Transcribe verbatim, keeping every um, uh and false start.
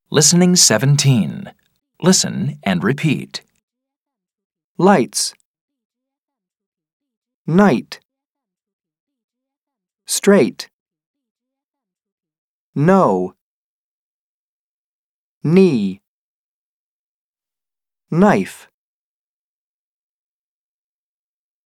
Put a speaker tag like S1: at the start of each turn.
S1: Listening seventeen. Listen and repeat.
S2: Lights. Night. Straight. No. Knee. Knife.